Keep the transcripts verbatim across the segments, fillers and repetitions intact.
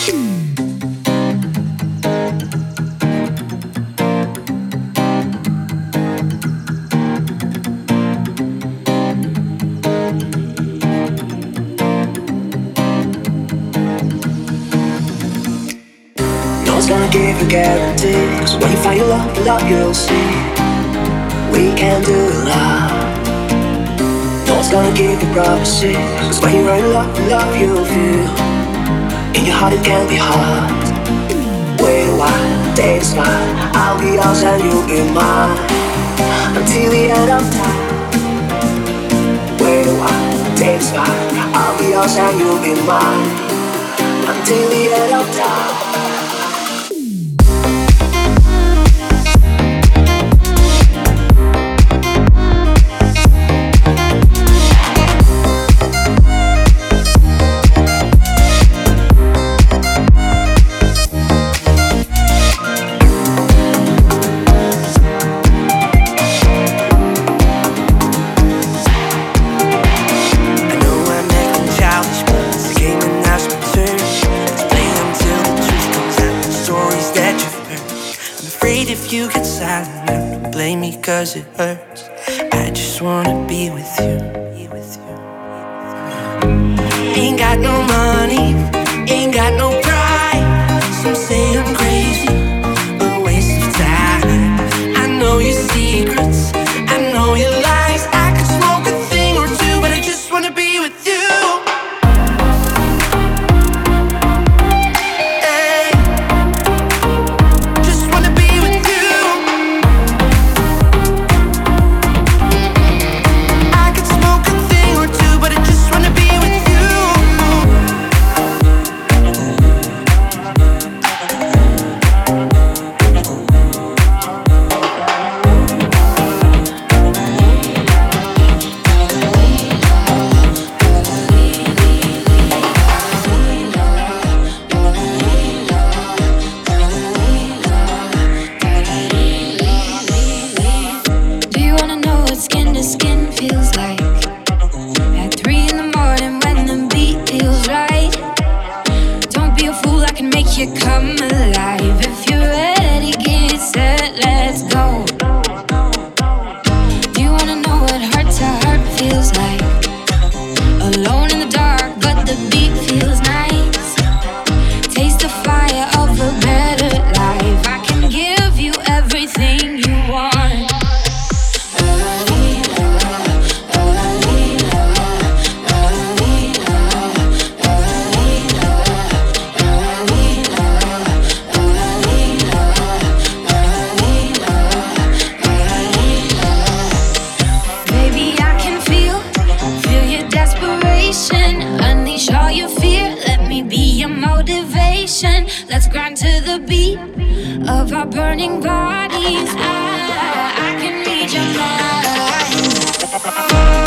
Gonna give a guarantee, 'cause when you find your love, your love you'll see we can do a lot. No one's gonna give you promises, 'cause when you're in love, your love you'll feel in your heart it can be hard. Wait a while, take a smile, I'll be yours and you'll be mine until the end of time. Wait a while, take a smile, I'll be yours and you'll be mine until the end of time. Cause it hurts. I just wanna be with you. Ain't got no money, ain't got no pride. Some say I'm crazy, a waste of time. I know your secrets, I know your lies. I could smoke a thing or two, but I just wanna be with you. Let's grind to the beat of our burning bodies. I, I can read your mind.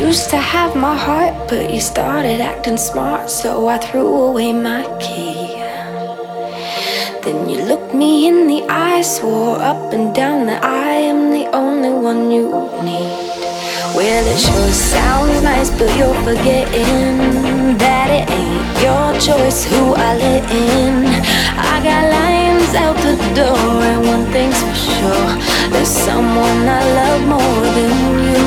used to have my heart, but you started acting smart, so I threw away my key. Then you looked me in the eye, swore up and down that I am the only one you need. Well, it sure sounds nice, but you're forgetting that it ain't your choice who I let in. I got lines out the door, and one thing's for sure, there's someone I love more than you.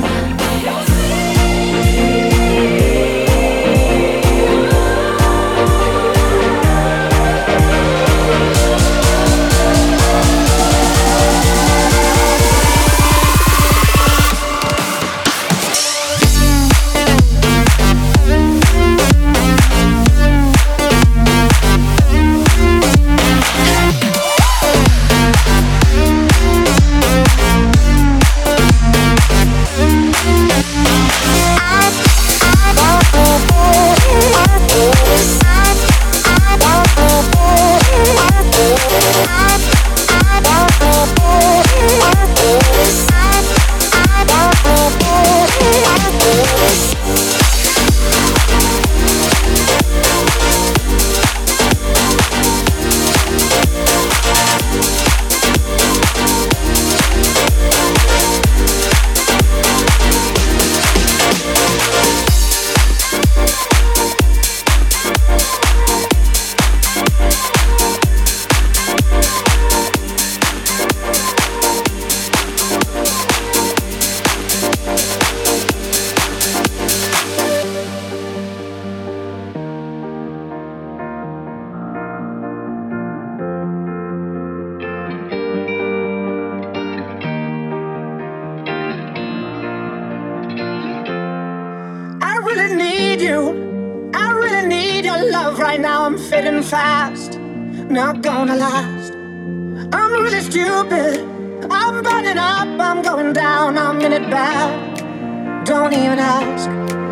Fast, not gonna last. I'm really stupid. I'm burning up, I'm going down, I'm in it bad. Don't even ask.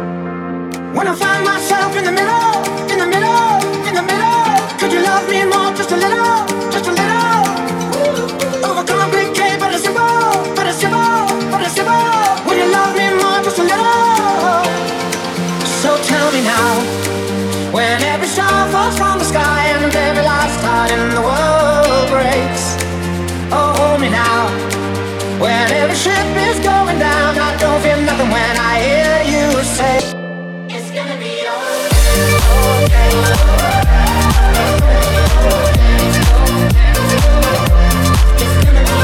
When I find myself in the middle, in the middle, in the middle, could you love me more, just a little, just a little? Overcomplicate, but it's simple, but it's simple, but it's simple. Will you love me more, just a little? So tell me now. When every star falls from the sky and every last heart in the world breaks, oh, hold me now. When every ship is going down, I don't feel nothing when I hear you say, it's gonna be okay. It's gonna be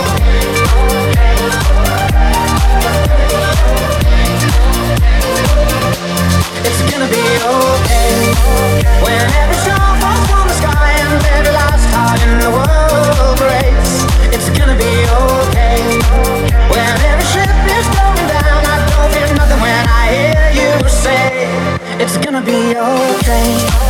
It's gonna be okay. When every star falls from the sky and every last heart in the world breaks, it's gonna be okay. When every ship is going down, I don't feel nothing when I hear you say, it's gonna be okay.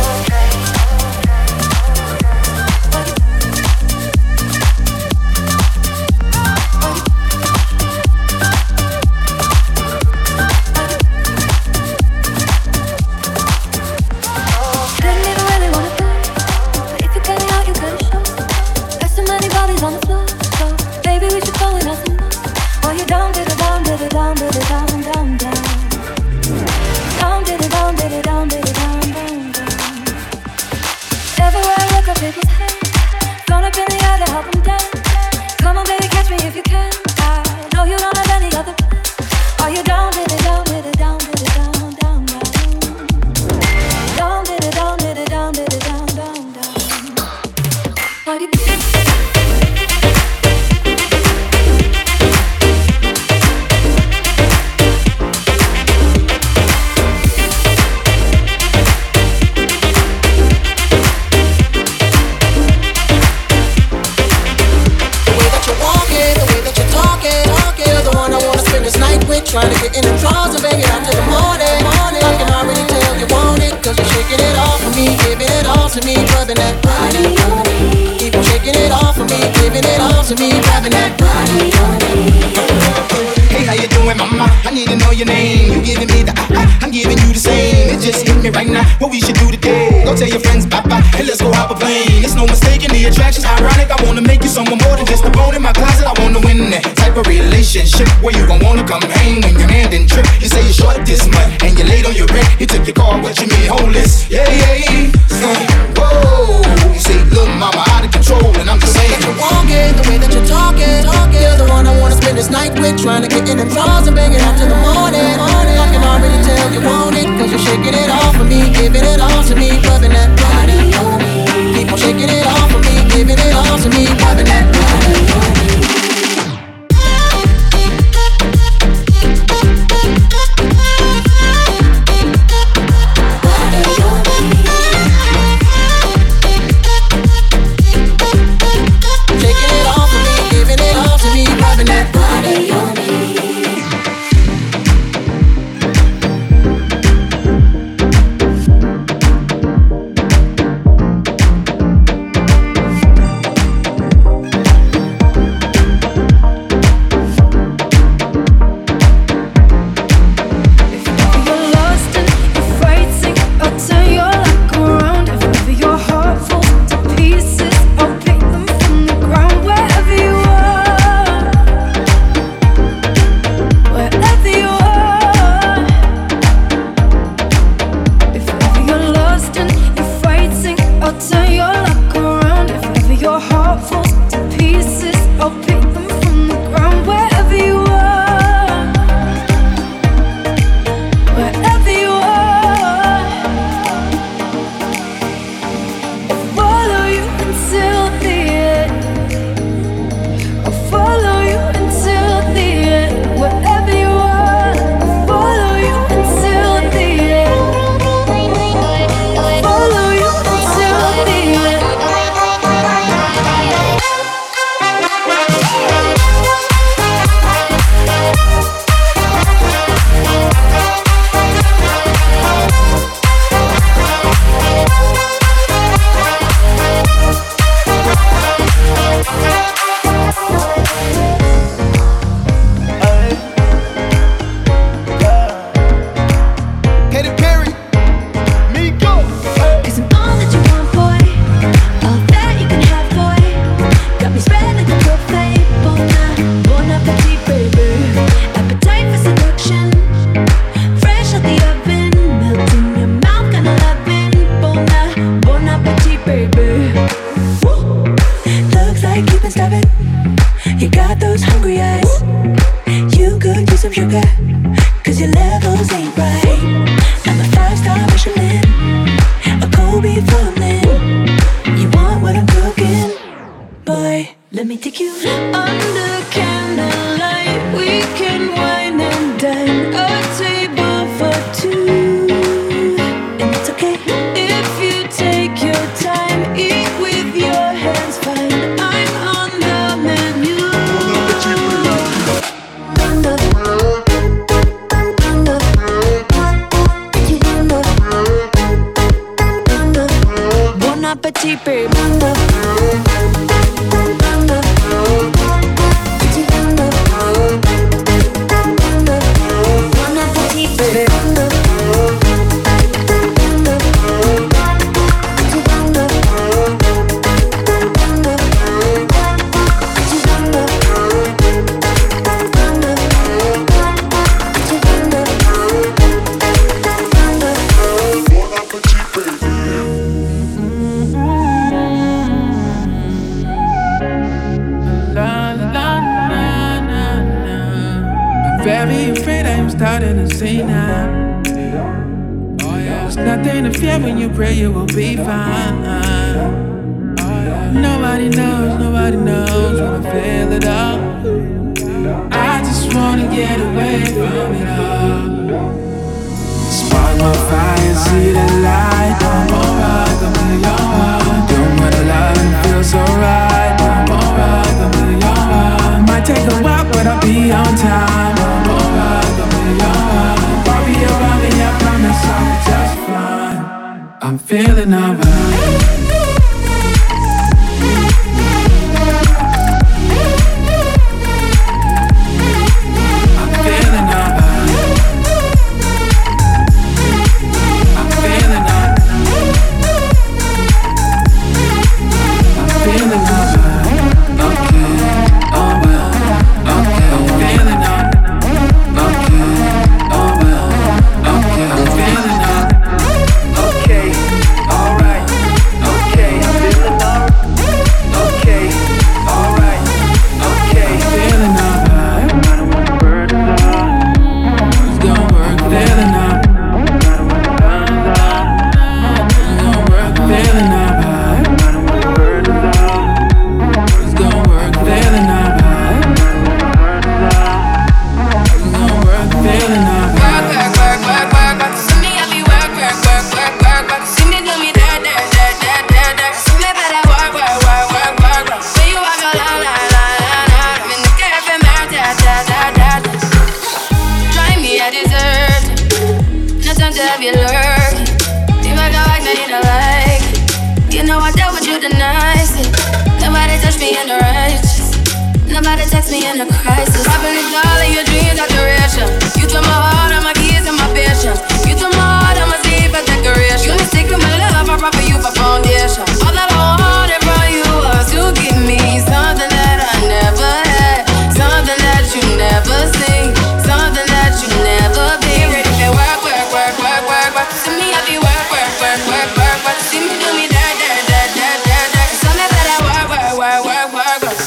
Trying to get in the drawers and bang it out till the morning, morning. I can already tell you want it, cause you're shaking it off for me, giving it all to me, rubbing that body on me. Keep on shaking it off for me, giving it all to me, rubbing that body on me. Hey, how you doing, mama? I need to know your name. You giving me the ah, ah, I'm giving you the same. It just hit me right now, what we should do today. Go tell your friends bye-bye, and let's go hop a plane. It's no mistaking the attraction's ironic. I wanna make you someone more than just a bone in my closet. I wanna win that type type of relationship where you gon' wanna come hang when your hand and trip. You say you're short this month and you late on your rent. You took your car, what you mean homeless? Yeah, yeah, say, whoa. You say, look, mama, out of control, and I'm just saying. That you're walking, the way that you're talking, talking. You're the one I wanna spend this night with, trying to get in them drawers and bang it out till the morning. morning. I can already tell you want it, cause you're shaking it off for me, giving it all to me, rubbing that body on me. Keep on shaking it off for me, giving it all to me, rubbing that body on me. Feeling you lurking. If I go back, now you don't like it. You know I dealt with you the nicest. Nobody touched me in the righteous. Nobody text me in a crisis. I've been all of your dreams are duration. You took my heart, all my keys, and my patience. You took my heart, all my sleep, and decoration. You stick to my love, I proper you for foundation. All that I wanted from you was to give me something that I never had, something that you never seen, something that you never been. Ready to work, work, work, work, work, work. To me, I be work, work, work, work, work, work. See me do me dirt, dirt, dirt, dirt, dirt, dirt. Something that I work, work, work, work, work, work.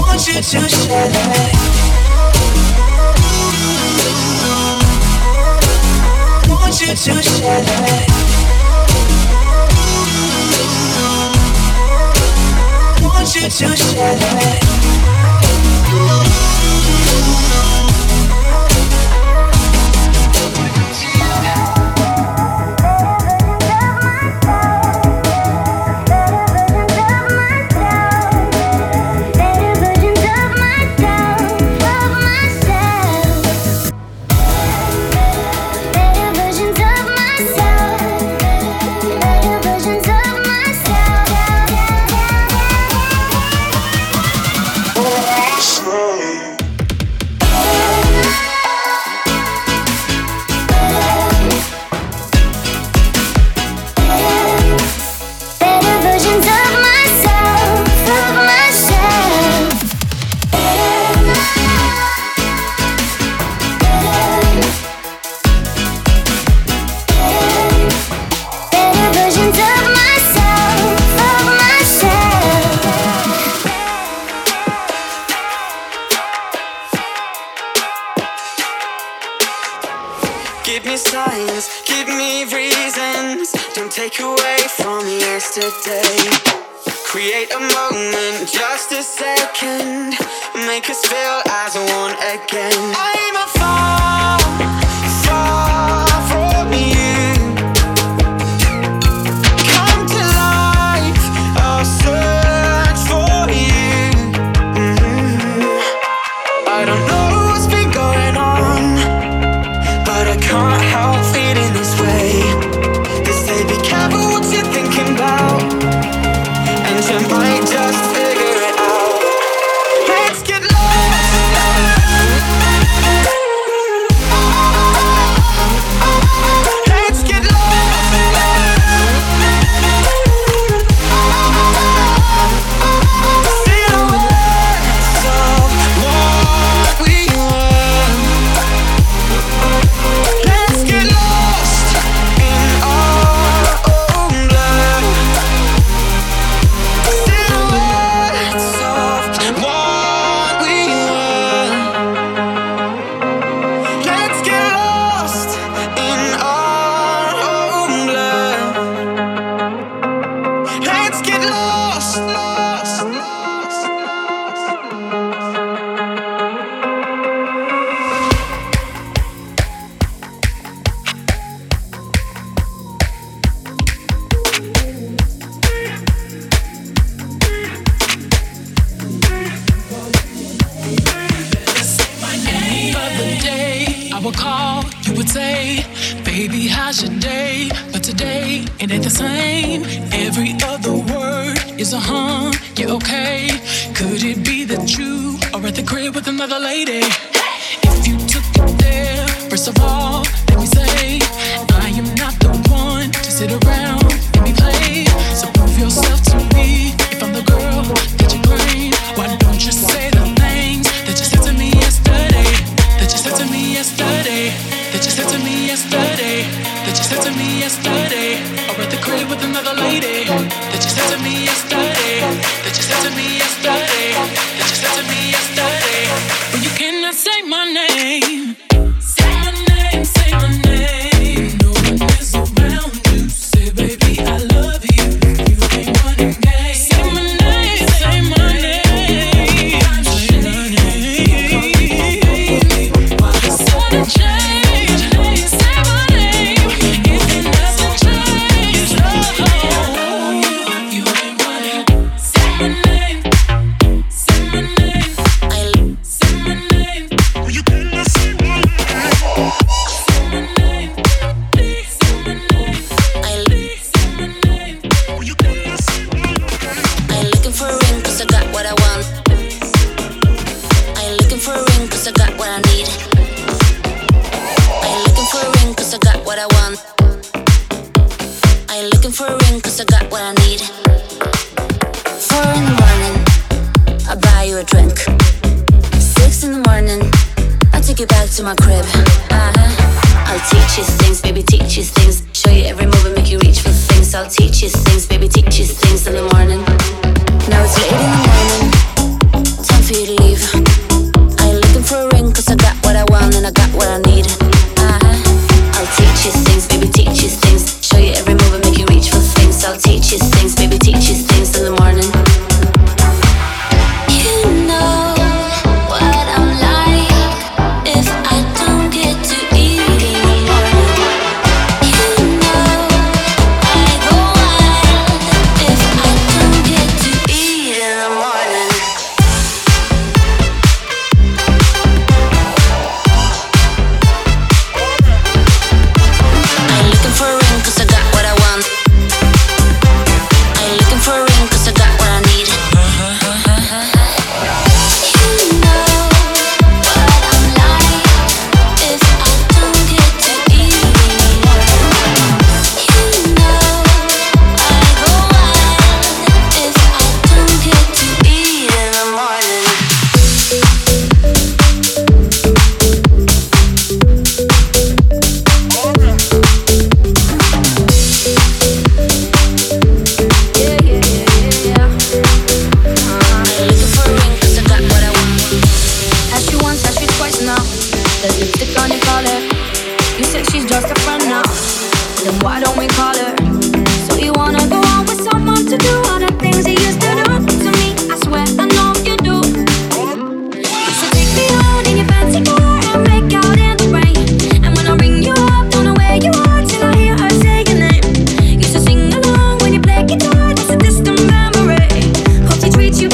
To share that you to share. Want you to share. Give me signs, give me reasons. Don't take away from yesterday. Create a moment, just a second. Make us feel as one again. I'm a far, far from you. Come to life, I'll search for you. Mm-hmm. I don't know what's been going on, but I can't help feeling this way. They say be careful what you're thinking about, and you might just figure it out. Let's get lost. Let's get lost. Silhouettes of what we were. Let's get lost in our own blood. Silhouettes of what we were. Let's get lost in our own blood. Let's get lost, lost, lost, lost. Other day, I would call, you would say, baby, how's your day? But today, it ain't the same. Every other word is a huh, yeah, okay. Could it be that you are at the crib with another lady? If you took it there, first of all, let me say, I am not the one to sit around and be played. So prove yourself to me. If I'm the girl that you claim, why don't you say the things that you said to me yesterday? That you said to me yesterday. That you said to me yesterday. That you said to me yesterday. Or at the crib with another lady. That you said to me yesterday. That you said to me yesterday. That you said to me yesterday. But you cannot say my name. Say my name, say my name. No one is around you. Say, baby, I love you. You ain't running game. Say my name, say my name. Say my name. It's sudden change. Say my name. If it doesn't change, oh, you ain't running. Say my name. Say my name. I say my name. You cannot say my name. Say my name. Say my name. I say my name. You cannot say my name. I looking for a ring cause I got what I want. I looking for a ring cause I got what I need. I looking for a ring cause I got what I want. I looking for a ring cause I got what I need. Four in the morning, I buy you a drink. Six in the morning, I take you back to my crib. Uh-huh. I'll teach you things, baby, teach you things. Show you every move and make you reach for things. I'll teach you things, baby, teach you things in the morning. Now it's late in the morning, time for you to leave. I looking for a ring cause I got what I want and I got what I need. Uh-huh. I'll teach you things, baby,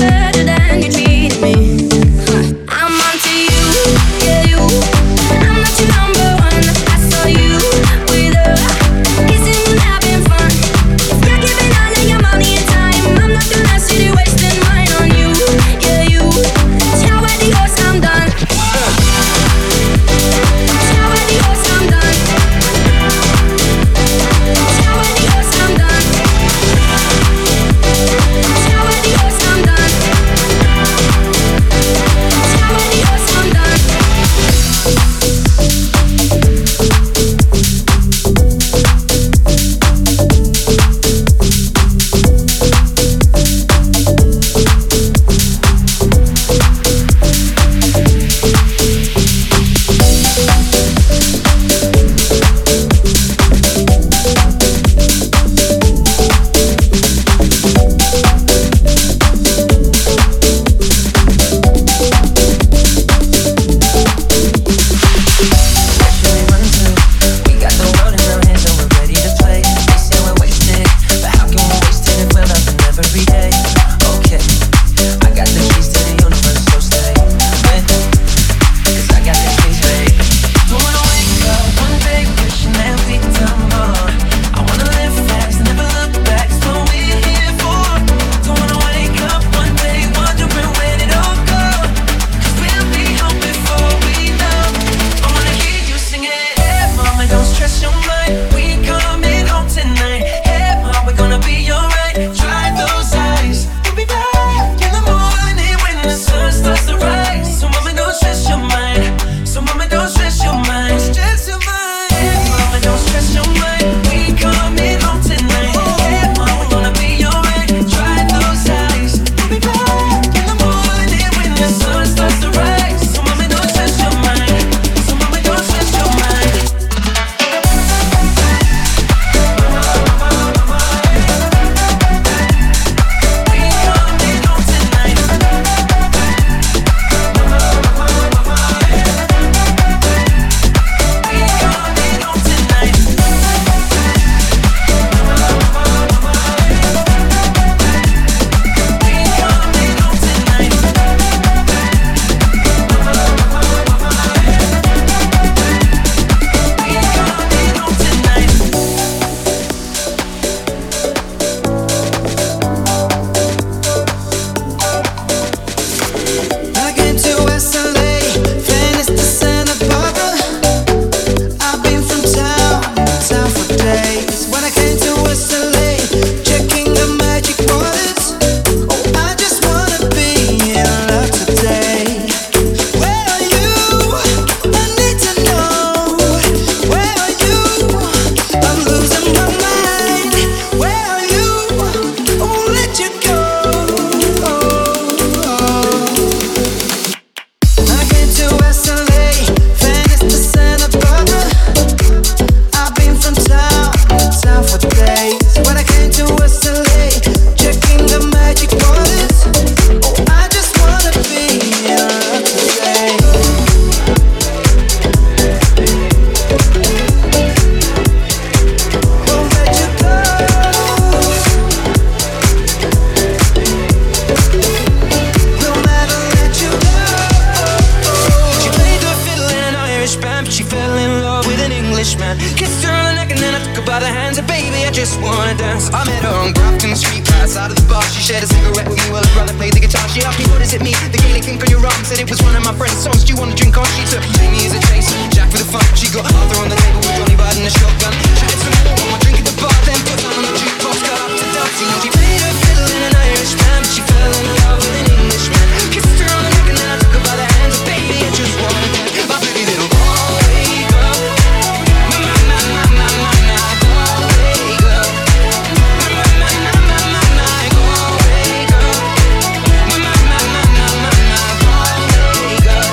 just wanna dance. I met her on Grafton Street, right outside of the bar. She shared a cigarette with me while her brother played the guitar. She asked me, what is it mean? The Gaelic ink on your arm. Said it was one of my friend's songs. Do you wanna drink on? She took Jamie as a chase, Jack for the fun. She got Arthur on the table with Johnny riding a shotgun. Chatted some more, one more drink at the bar, then put down on the jukebox, got up to dancing. She played her fiddle in an Irish band, but she fell in love with an Englishman. Kissed her on the neck and then I took her by the hands. Baby, I just wanna dance. My pretty little Galway girl. My, my, my, my, my, my, my Galway girl. My, my, my, my, my, my, my Galway girl. My, my, my, my, my, my, my Galway girl.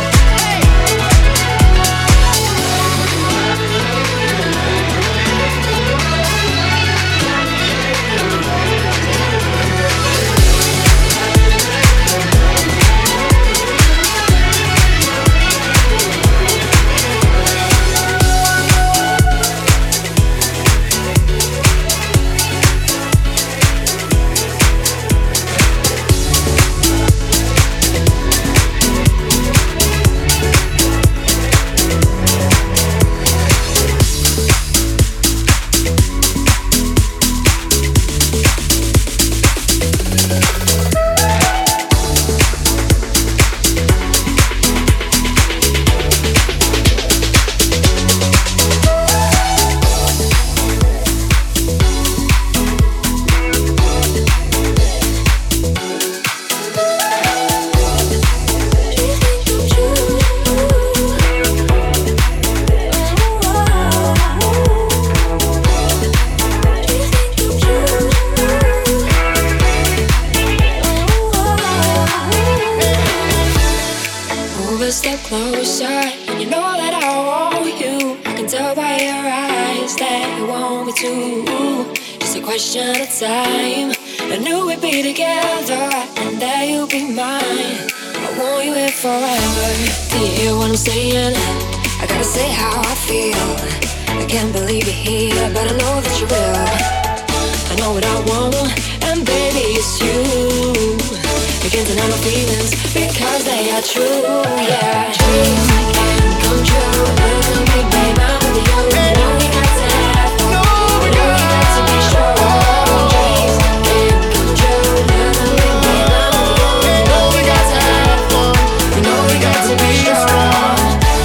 step closer, and you know that I want you. I can tell by your eyes that you want me to. Just a question of time. I knew we'd be together, and that you'd be mine. I want you here forever. Do you hear what I'm saying? I gotta say how I feel. I can't believe you're here, but I know that you will. I know what I want, and baby it's you. You can't deny my feelings because they are true, yeah. Dreams can come true. Little big babe, I'm with you. You know we got to have fun. You know we got to be strong. Dreams can come true. Little big babe, I'm with you. You know we got to have fun. You know we got to be strong.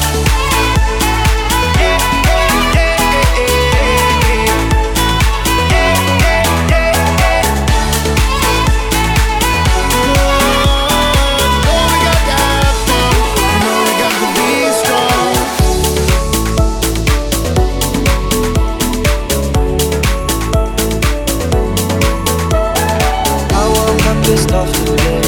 Pissed off today.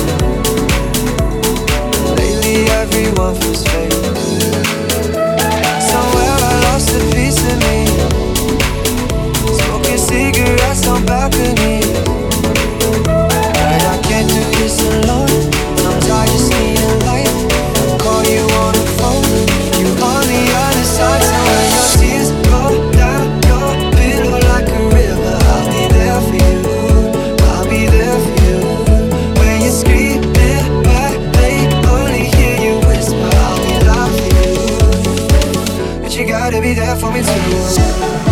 Lately everyone feels fake. Somewhere I lost a piece of me. Smoking cigarettes on balcony. But I can't do this alone. Sometimes I just need a light. I'll call you on the phone. You on the other side. So when your tears go down your pillow like a river, I'll be there for you. I'll be there for you. Screaming back, they only hear you whisper, I'll be loud for you. But you gotta be there for me too.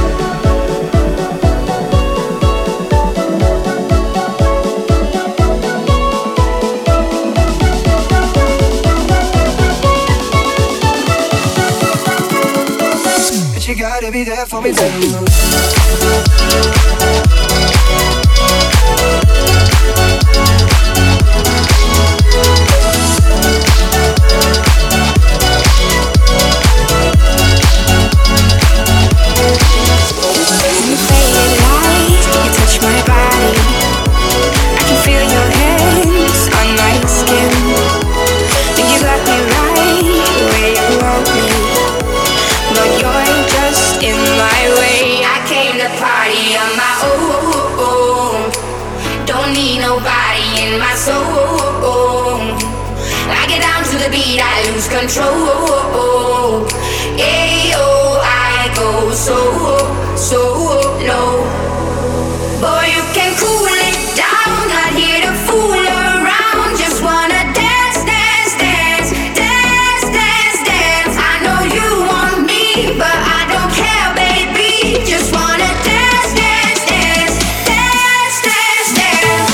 But you gotta be there for me too. Control, yeah, oh, I go so, so low. Boy, you can cool it down, not here to fool around. Just wanna dance, dance, dance, dance, dance, dance. I know you want me, but I don't care, baby. Just wanna dance, dance, dance, dance, dance, dance.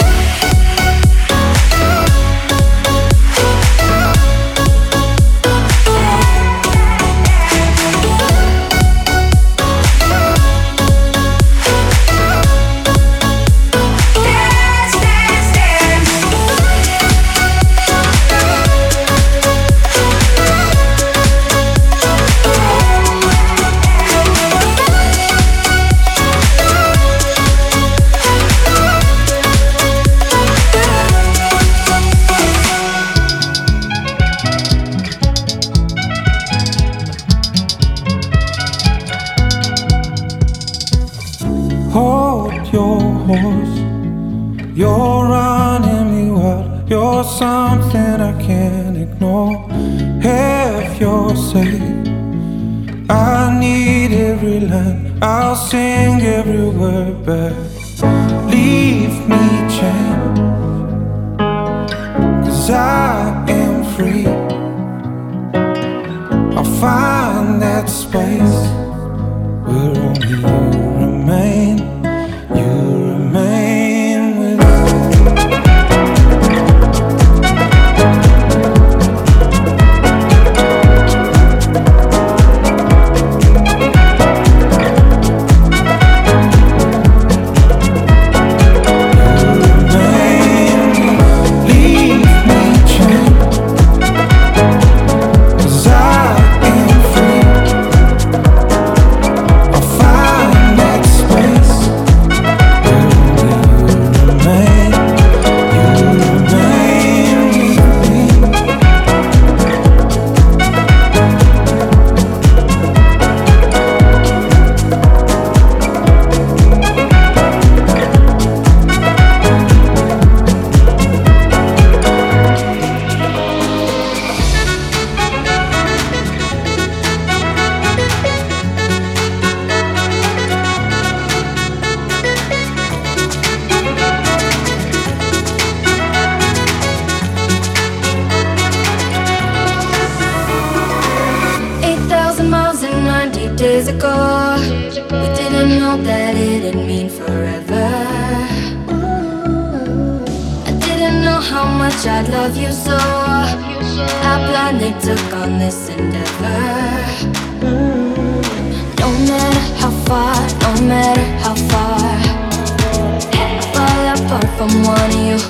You're running me wild. You're something I can't ignore. Have your say. I need every line. I'll sing every word back. Leave me chained, 'cause I am free. I'll find that space where only you remain. You remain with me. days ago, we didn't know that it'd mean forever. I didn't know how much I love you, so I blindly took on this endeavor. No matter how far, no matter how far, I fall apart from one of you.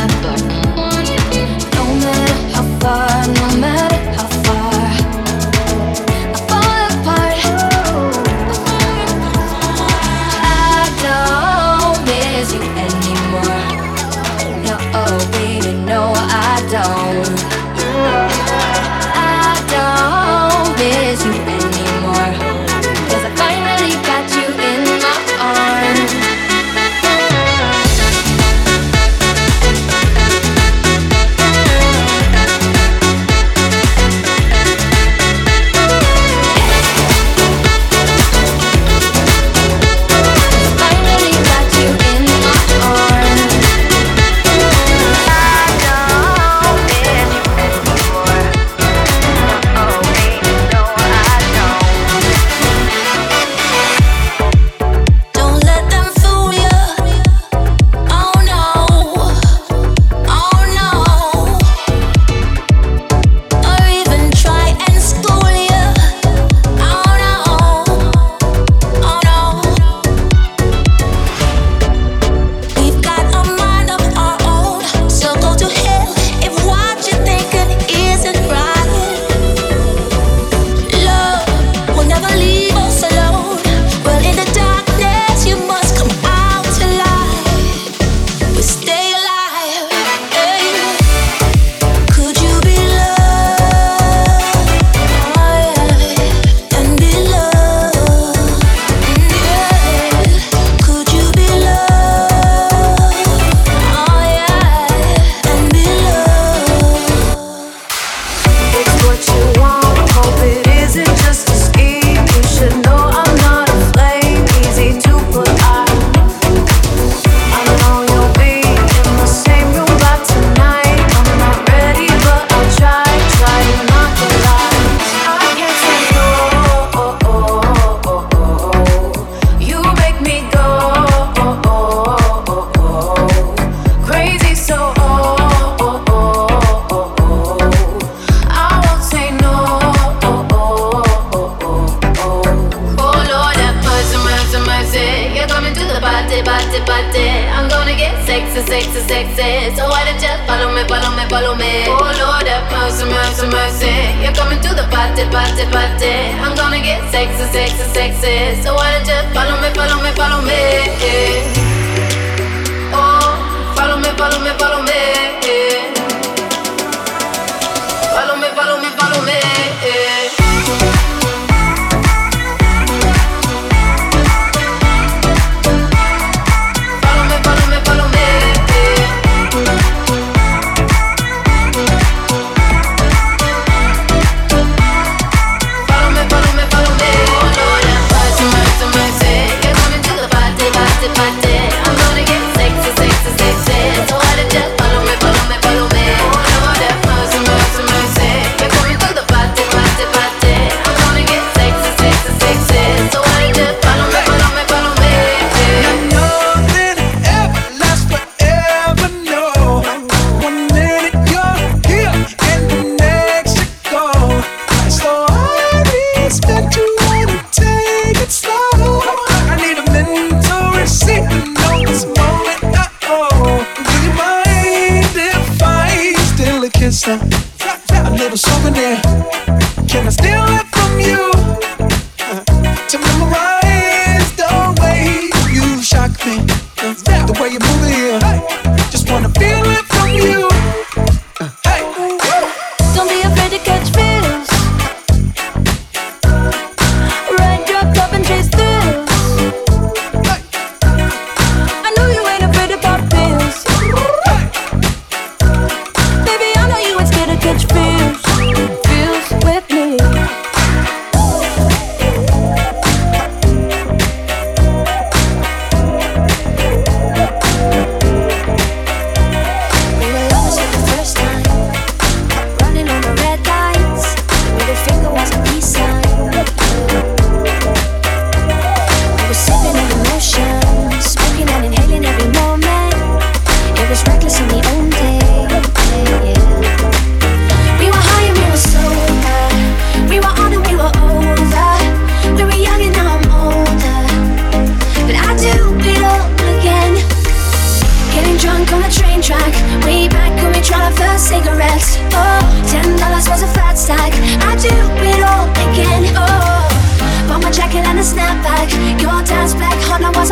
No matter how far, no matter how far, I fall apart. I don't miss you anymore. No, oh baby, no I don't. I don't miss you anymore, 'cause I finally got you in my arms.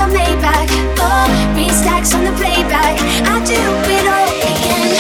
Maybach. Oh, green stacks on the playback. I do it all again.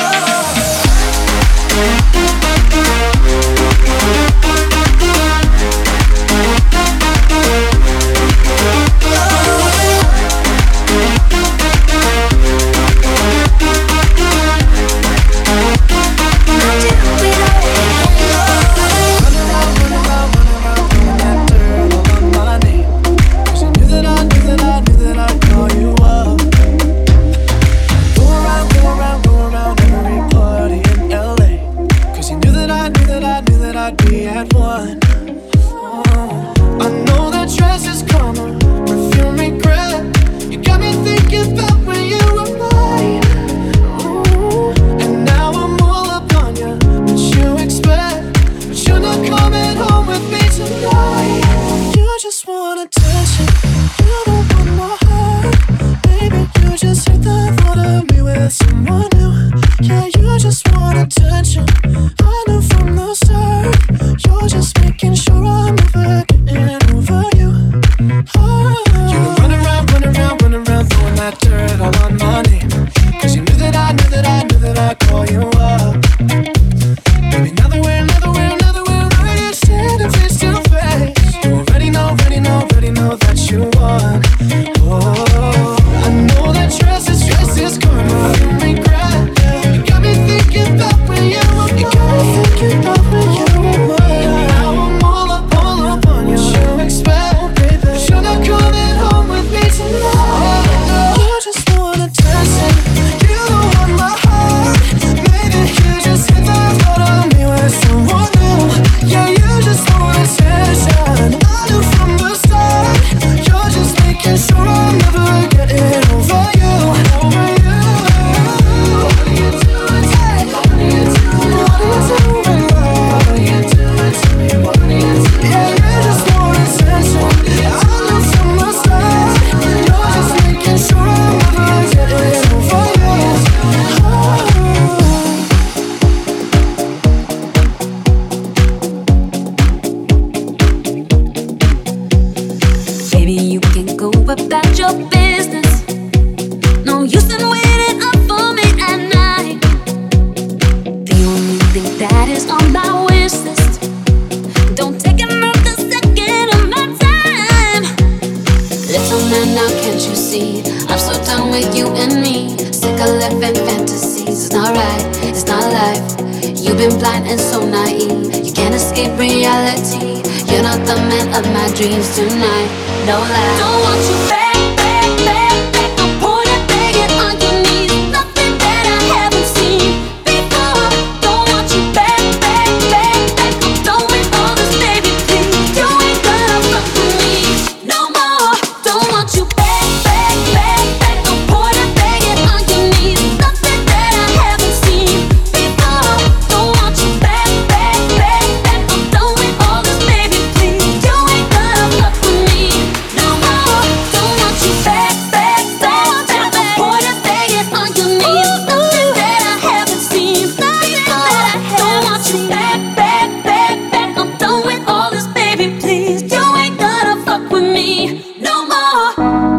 Dreams tonight, no lie. Don't want you back, back, back, back. I'm pouring, begging on your knees. Nothing that I haven't seen before. Don't want you back, back, back, back. I'm done with all this, baby, please. You ain't gonna fuck with me no more. Don't want you back, back, back, back. I'm pouring, begging on your knees. Nothing that I haven't seen before. Don't want you back, back, back, back. I'm done with all this, baby, please. You ain't gonna fuck with me no more. Don't want you back, back, back, back. I'm pouring, begging on your knees. Nothing that I haven't seen before. Don't want you back, back, back, back. I'm done with all this, baby, please. You ain't gonna fuck with me no more.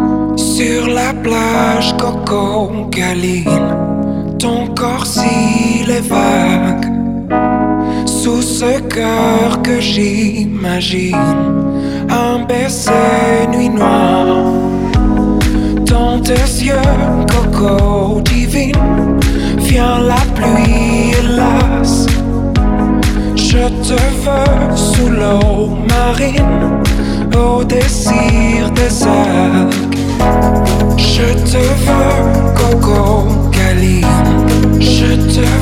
Sur la plage, Coco câline ton corps si les vagues. Sous ce cœur que j'imagine, un baiser nuit noire. Dans tes yeux, Coco divine, vient la pluie hélas. Je te veux sous l'eau marine, au désir des algues. Je te veux, Coco câline. Je te